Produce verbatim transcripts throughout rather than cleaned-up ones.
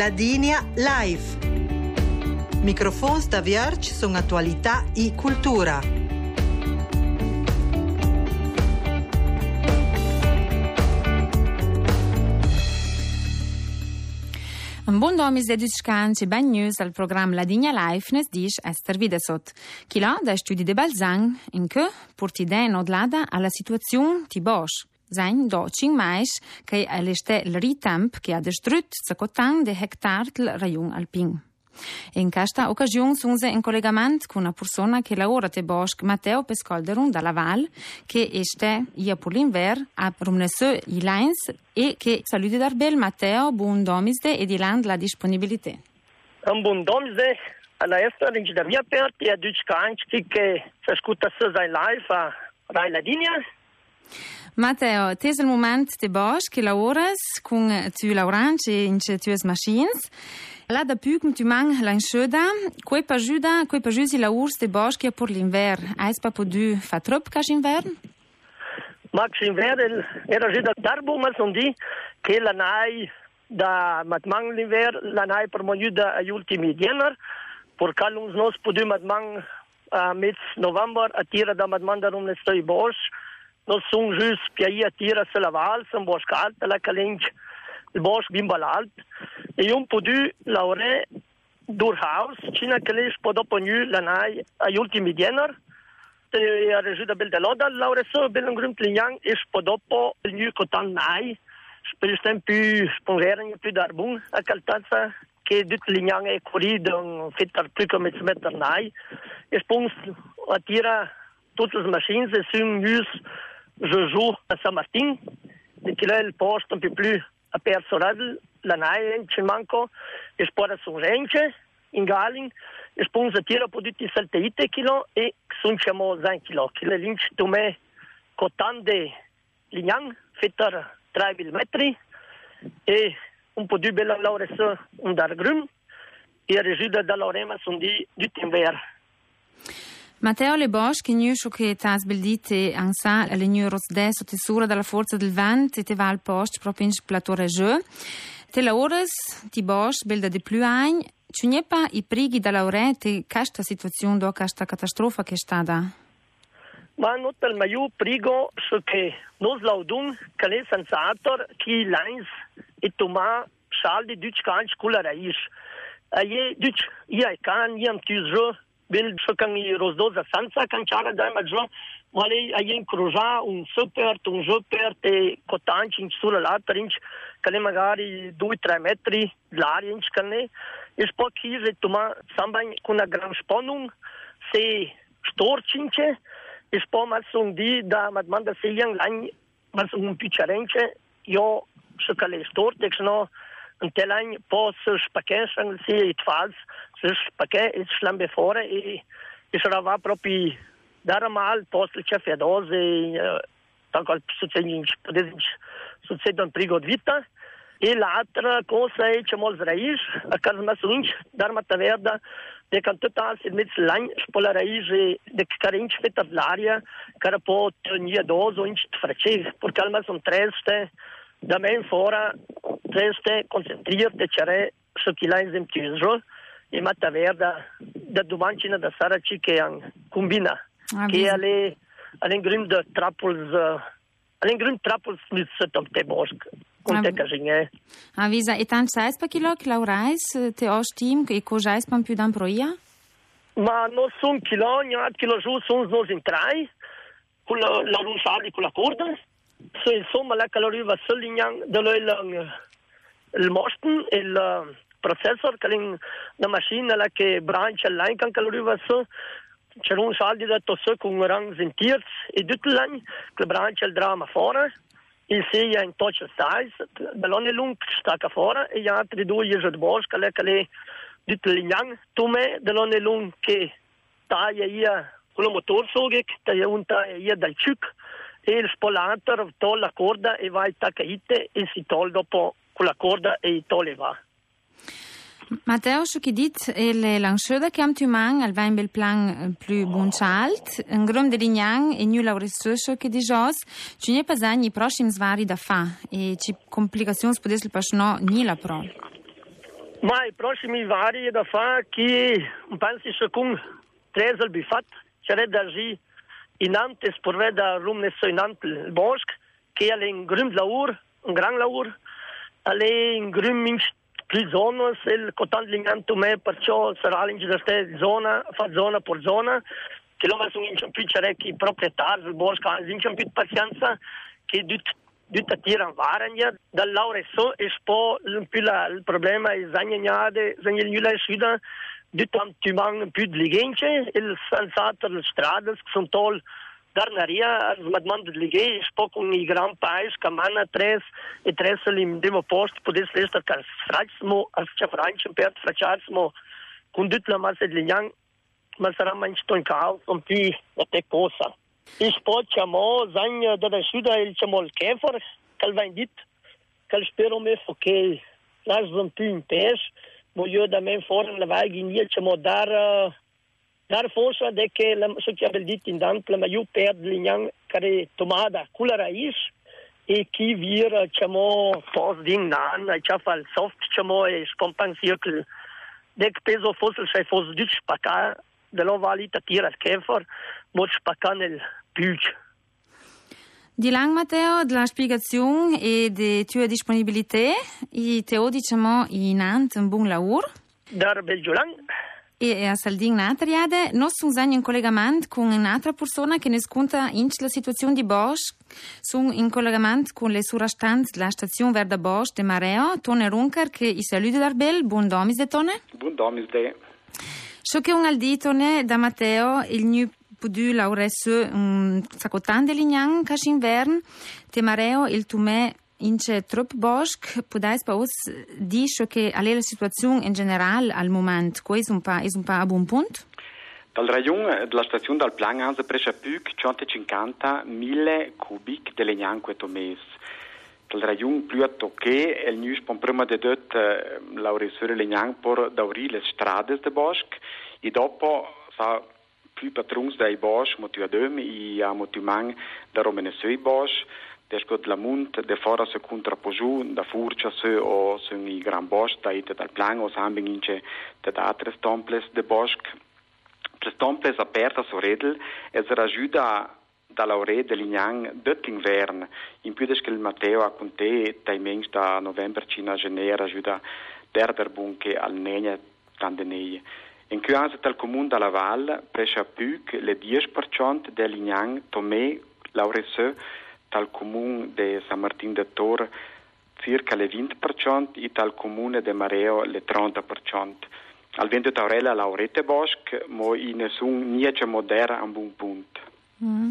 Ladinia Live. Microfons da Vierge sono attualità e cultura. Un buon domis de Dutscanci ben news al programma Ladinia Live nes dish Esther Videsot. Chi là da studi de Balzang in che portiden odlada alla situazione ti bosch. Sein do cin mais che all'este il ritamp che ha distrut zacotan de hectar del rayon alpin. In questa occasione sunse in collegamento con una persona che lavora te bosc Matteo Pescolderun dalla Val che este ia per l'inver a Rumnesö i Lines e che saluti darbel Matteo buon domisde e di land la disponibilità. Un buon domisde alla Esther in da via aperti a Dutscanci che si ascolta in live a Rai Ladinia. Matteo, te è il momento de bosc che lavoras con tu lauranci in tues machines. Là da più tu man la insceda, quei pa ajuda, quei pa jusi la urs de bosc per l'inver. Ais pa podu fa trop cas invern? Max inver era ajuda darbo ma son di che la nai da matmang l'inver, la nai per mojuda agli ultimi diener, por calums nos podu matmang a mezz november a tira da matmang da rum ne stoi bosc. Nos sunt just piaia tira se la val, se bosc alt, la calenci il bosc bimbal alt. E un podu laure durhaus, cina che le po dopo nu la nai agli ultimi diener. E a rejuda bel de loda, laure so bel un grunt lignang, e po dopo il nu cotan nai, per stem più spongeren più darbun a caltanza che dit lignang e corrido un fettar più come se metter nai. E spons a tira tutte le machines e sunt nus je joue a Saint-Martin, de che il posto un po' più aperto la nai ci manco e spora su rence in Galin e sponsa tira potuti salteite kilo e sun chiamo zan kilo che le linch to me cotande lignang fetter tre millimetri e un po' di bella lauressa un dar grum e rejuda da laurema sun di di timber. Matteo Le Bosch, che nu che tas beldite ansa le nu rosde so tesura dalla forza del vent e te va al post proprio in plateau regeux. Te la ores ti Bosch belda de più ein, ci n'è pa i prighi da laurete questa situazione do questa catastrofa che sta da. Ma not il maiu prigo so che nos laudun che le sensator chi lines e toma saldi Dutscanci culla raish. Aie Duts ia can iam tuzro Bel șocan i rozdoza sanța cancara da maggior, ma lei a incroja un super, un super te cotanci in sulla l'altra inch, che le magari due tre metri l'aria inch che ne, e poi chi se toma samba con una gran sponung, se storcince, e poi ma son di da madmanda se yang lang, ma son un picciarence, io so che le storte, che no, un telain po să spaccheșan si it fals să spacche it slambe fora e e sarà va proprio dar mal post il chef doze tanto al succede succede un prigo di vita e l'altra cosa è che mol raiz a casa ma sunch dar mata verda de can total il mezzo lang spola raiz de carinci fetta l'aria cara po nia dozo inch frace por calma son treste da men fora treste concentrierte cere su chi la esempio e matta verda da domancina da saraci che an combina ah, che alle alle grund trappels alle grund trappels mit setom te bosc con ah, te casine avisa e tant sais pa kilo che laurais te ostim e cojais pan più dan proia ma no son kilo ni at kilo giù son nos in trai con la la rusali con la corda so insomma la caloria va solignang dello il il mosten il processor che la macchina la che brancia l'line can caloria va so c'è un saldi da tosso con rang sentiers e tutto l'anno che brancia il drama fora il sia in touch size ballone lung stacca fora e gli altri due gli di bosca le che le tutto l'anno tu me ballone lung che taglia ia con il motor so che taglia un taglia dal chuc e il spolator toglie la corda e va a tacaite e si toglie dopo con la corda e i toglie va. Matteo, ce che dit è le langsceda che am tu man al vain bel plan più buncialt, un grom de lignang e nu lauresso che di jos, ci ne pasani i prossimi svari da fa e ci complicazioni spodes il pasno ni la pro. Ma i prossimi vari da fare che pensi che con tre al bifat c'è da gi in ante sporve da rumnesso in ante il bosco che è in grund laur, un gran laur, alle in grund più zone, se il cotan linganto me perciò sarà in questa zona, fa zona per zona, che lo sono in più cerchi proprietari del bosco, in più pazienza che Dutta tirano varanja, dal laure so e spo il problema è zagnade, zagnale sida, dutta antimang più ligence, il sensato le strade sono tol darnaria, smadman de lighe, spo con i gran paesi, camana tres e tres lim demo post, podes resta car fracsmo, as cha franci per fracciarsmo, con dutta la massa de lignang, ma sarà manchito in caos, un più da te cosa. Il sport chiamò Zagna da Suda il chiamò il Käfer, che va in dit, che spero me che lasciano più in pes, ma io da me fuori la vai in dia chiamò dar dar forza de che la so che abbiamo dit in dank ma io per lignang care tomada cula raiz e chi vir chiamò pos ding nan, e c'ha fa il soft chiamò e spompan cirkel. De peso fosse sei fosse dit spacca dello valita tira il Käfer, mo spacca nel Büch. Di lang, Matteo, della spiegazione e di tua disponibilità, e te diciamo in ant un buon lavoro. Dar belgio lang. E a Saldin Natariade, noi siamo in collegamento con un'altra persona che ne sconta in la situazione di Bosch. Sono in collegamento con le surastanze della stazione Verda Bosch de Mareo, Tone Runker, che i saluta darbel. Buon domis de Tone. Buon domis de. So che un al di Tone da Matteo, il new pudu lauresse un sacotan de lignang cash invern, te Mareo, il tume ince trop Bosch, podais pa us dice che alle la situazione in generale al momento, questo è un pa, è un pa a buon punto? Dal rayon della stazione dal plan hanno preso più centocinquantamila cubic de lignang questo mese. Dal rayon più a tocche il news pon prima de dot lauressore lignang por dauri le strade de Bosch e dopo sa più patrons dai Bosch motiu adem e a motivang da romenesui Bosch descot la munt de fora se contrapoju da furcia se o sun i gran Bosch da ite dal plan o sambing ince de altre stomples de Bosch tre stomples aperta so redel e se rajuda da laure de lignang dot invern in più desche il Matteo a conte timings da november cina genera ajuda derder bunche al nenia tandenei. In Cuanza tal comune dalla Val prescia più le dieci per cento del lignang Tomé Lauresse tal comune de San Martin de Tor circa le venti per cento e tal comune de Mareo le trenta per cento. Al vento taurella Laurette Bosch, mo in nessun niente modera a un buon punto. Mm.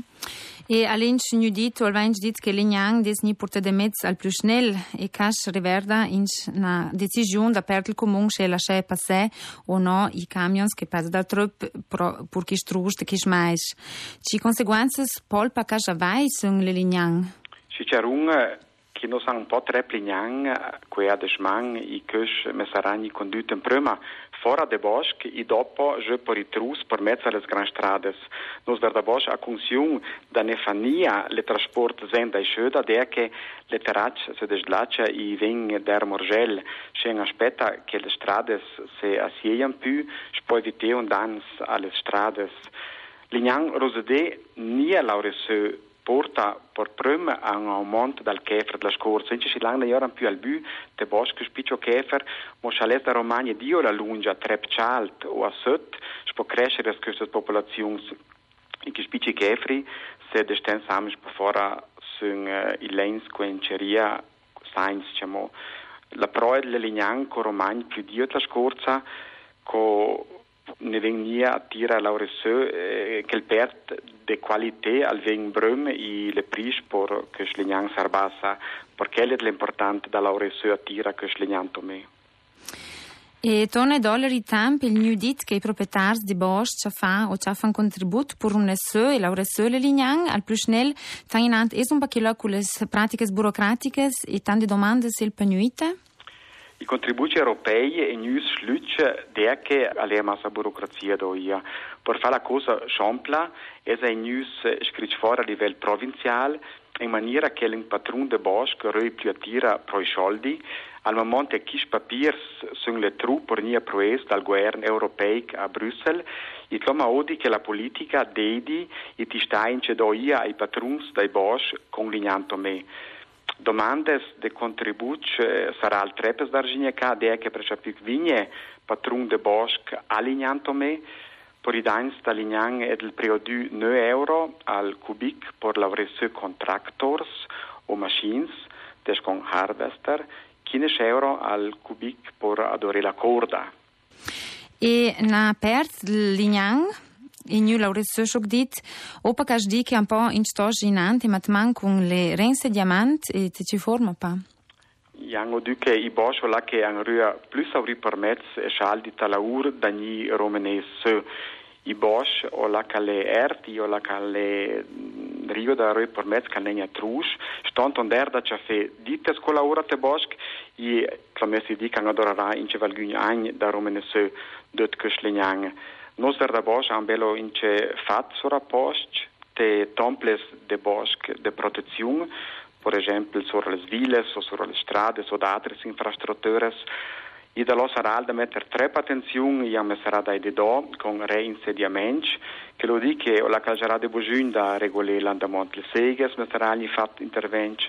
E all'inch nu dit, o alvainch dit che lignang des ni porta de mezz al più schnell e cash riverda inch na decisione da per il comune che lascia passare o no i camions che passano dal trop pur chi strust chi smais. Ci conseguenze polpa cash vai sun le lignang. Si c'è un che non sa un po' tre lignang que a de schmang i cash mesarani condutte in prima fora de Bosch e dopo je per i trus per mezzo alle gran strades. Nos Verda Bosch a consiun da nefania le trasport zen dai schöda der che le terrace se deslaccia i veng der morgel scen aspetta che le strades se assiejan più spoi vite un dans alle strades. Lignang rosede nia lauresse porta per prima a un aumento dal Käfer della scorsa. Ince si lang da più al bu de Bosch spiccio Käfer, mo chales da Romagna dio la lunga trep chalt o a sot, spo crescere queste popolazioni in che spicci Käferi se de sten samis per fora sun uh, il lens quenceria science diciamo la proe delle lignang co Romagna più dio la scorsa co ne venia a tira lauresse eh, che il pert de qualité al veng brum e le pris por che slignang sarbassa perché è l'importante da lauresse a tira che slignang tome. E tonne dollari temp il new dit che i proprietari di Bosch ci fa o ci fa un contributo per un nesse e lauresse le lignang al più schnell tanginant es un bacchilo con le pratiche burocratiche e tante domande sil penuite. I contributi europei e news sluce der che alle massa burocrazia doia. Per fare la cosa sciampla, è in news scritto fuori a livello provinciale, in maniera che il patron de bosco rei più attira pro i soldi. Al momento che i papirs sono le truppe fornite proes dal governo europeo a Bruxelles, e come odi che la politica dedi e ti sta in cedoia ai patrons dei boschi con l'ignanto me. Domandes de contributi sarà al trepes d'argine ca de che per più vigne patron de boschi all'ignanto me. Per i danni dall'ignan è il periodo nove euro al cubic per lavorare con tractors o machines, des con harvester, quindici euro al cubic per adorare la corda. E na pert l'ignan, in new laurezzo shock dit, opa cash di che un po' in sto ginante, ma man con le rense diamant e ti ci forma pa. Yang o che i boschi là che hanno rua plus auri permets e scialdi talaur dagli romanese. I boschi o là che le erti o là che le rio da rua permets che ne trus, stonton der da ciafe dite scola ora te boschi e clamessi di che adorarà in cevalgugn agn da romanese dot cuslegnang. Nos der da boschi han bello in ce fat sora post te temples de boschi de protezione. Per esempio sulle ville o sulle strade o da altre infrastrutture. E da lo sarà da mettere tre attenzioni e sarà da do con reinsediamenti che lo dice che la calcerà de bujun da regolare l'andamento delle seghe, ma sarà gli fatti interventi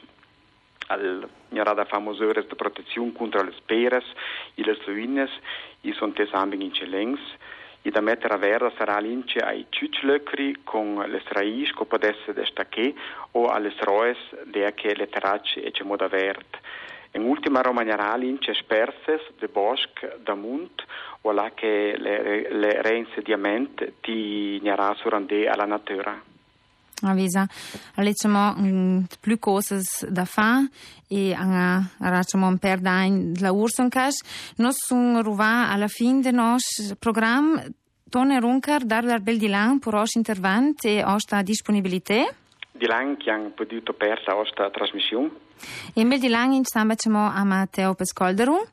al da famose di protezione contro le speres e le ruines e sono tesambing in celengs. E da mettere a verda sarà l'ince ai ciuclöcri con le raici che può essere destaché o alle roes de che le tracce e c'è moda verde. In ultima romagnerà l'ince sperses de bosc da munt o là che le, le reinsediamenti ti gnarà surande alla natura. Avisa, diciamo um, più cose da fare e facciamo un per d'anni la urson cash. Noi siamo arrivati alla fine del nostro programma. Tone Runcar, dar dar bel dilan per os intervent e osta disponibilità. Dilan che hanno potuto persa osta trasmissione. E bel dilan in stamba c'emo a Matteo Pescolderu.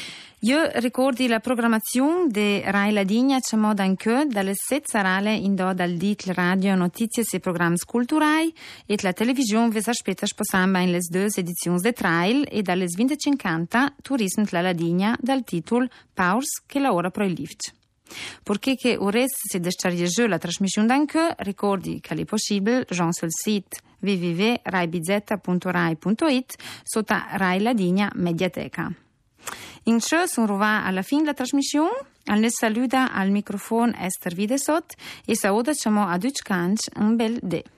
Io ricordi la programmazione di Rai Ladigna c'è anche dalle sette sarale in do dal dit radio notizie e programmi culturali e la televisione vi aspetta sposamba in le due edizioni de trail e dalle venticinque turismo la Ladigna dal titolo Paus che lavora pro il lift. Perché che ores se destarriege la trasmissione d'anche, ricordi che è possibile già sul sito w w w punto rai bizetta punto rai punto it sotto Rai Ladigna Mediateca. In ciò sono arrivati alla fine della trasmissione. Al ne saluta al microfono Esther Videsot e saluta a Duc Canc un bel de.